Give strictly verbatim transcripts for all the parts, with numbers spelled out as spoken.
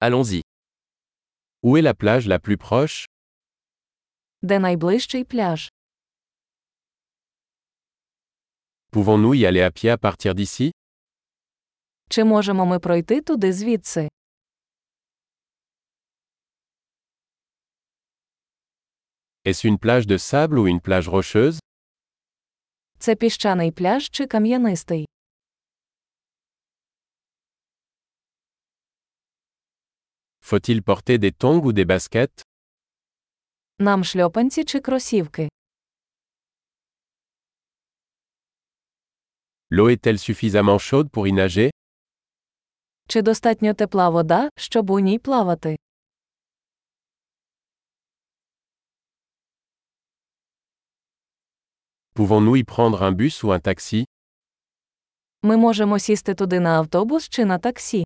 Allons-y. Où est la plage la plus proche? Де найближчий пляж? Pouvons-nous y aller à pied à partir d'ici? Чи можемо ми пройти туди звідси? Est-ce une plage de sable ou une plage rocheuse? Це піщаний пляж чи кам'янистий? Faut-il porter des tongs ou des baskets? Нам шльопанці чи кросівки? L'eau est-elle suffisamment chaude pour y nager? Чи достатньо тепла вода, щоб у ній плавати? Pouvons-nous y prendre un bus ou un taxi? Ми можемо сісти туди на автобус чи на таксі.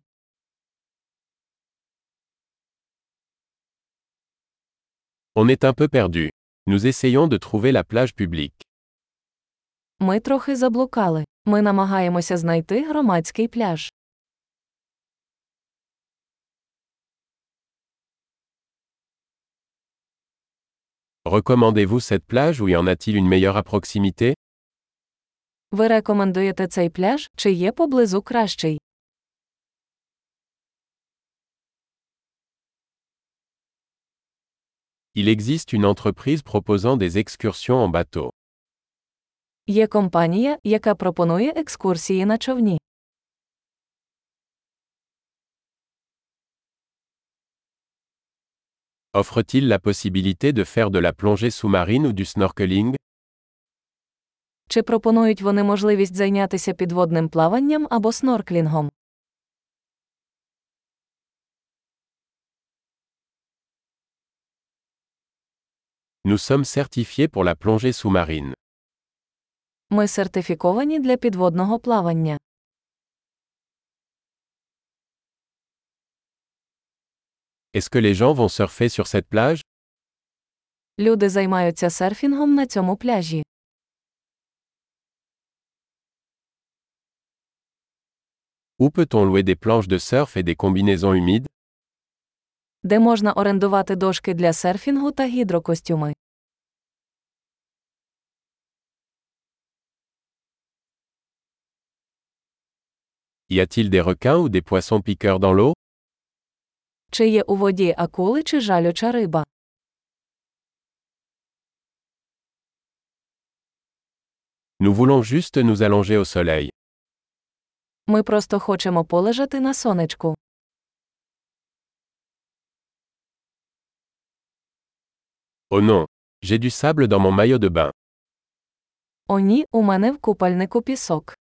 On est un peu perdu. Nous essayons de trouver la plage publique. Ми трохи заблукали. Ми намагаємося знайти громадський пляж. Recommandez-vous cette plage ou y en a-t-il une meilleure à proximité? Ви рекомендуєте цей пляж, чи є поблизу кращий? Il existe une entreprise proposant des excursions en bateau. Є компанія, яка пропонує екскурсії на човні. Offre-t-il la possibilité de faire de la plongée sous-marine ou du snorkeling? Чи пропонують вони можливість зайнятися підводним плаванням або снорклінгом? Nous sommes certifiés pour la plongée sous-marine. Ми сертифіковані для підводного плавання. Est-ce que les gens vont surfer sur cette plage? Люди займаються серфінгом на цьому пляжі. Où peut-on louer des planches de surf et des combinaisons humides? Де можна орендувати дошки для серфінгу та гідрокостюми? Y a-t-il des requins ou des poissons piqueurs dans l'eau? Чи є у воді акули чи жалюча риба? Nous voulons juste nous allonger au soleil. Ми просто хочемо полежати на сонечку. Oh non, j'ai du sable dans mon maillot de bain. О ні, у мене в купальнику пісок.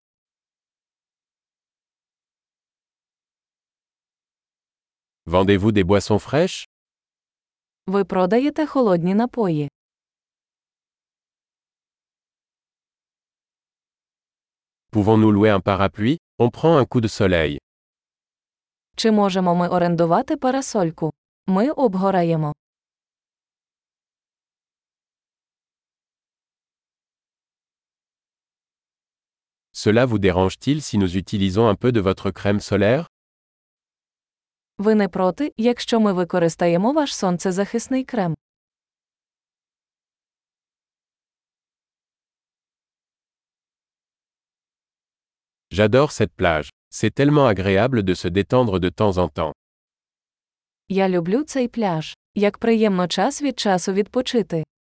Vendez-vous des boissons fraîches? Ви продаєте холодні напої. Pouvons-nous louer un parapluie? On prend un coup de soleil. Чи можемо ми орендувати парасольку? Ми обгораємо. Cela vous dérange-t-il si nous utilisons un peu de votre crème solaire? Ви не проти, якщо ми використаємо ваш сонцезахисний крем? J'adore cette plage. C'est tellement agréable de se détendre de temps en temps. Я люблю цей пляж. Як приємно час від часу відпочити.